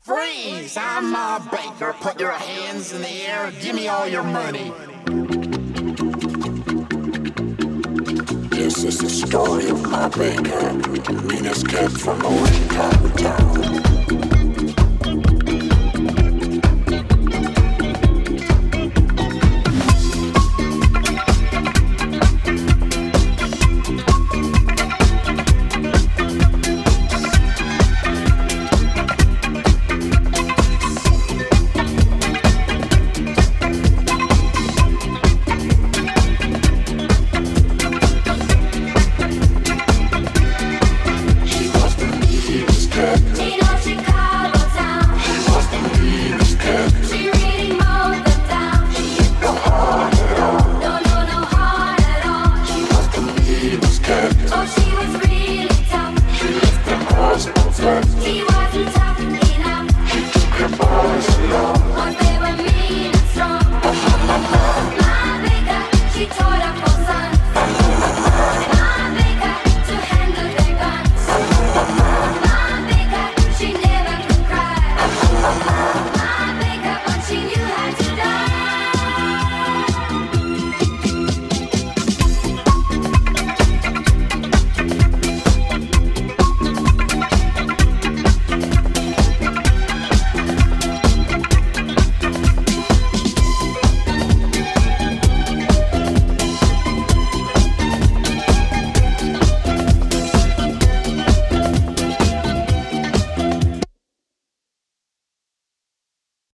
Freeze! I'm Ma Baker. Put your hands in the air. Give me all your money. This is the story of Ma Baker, the meanest cat from the Wayne Town.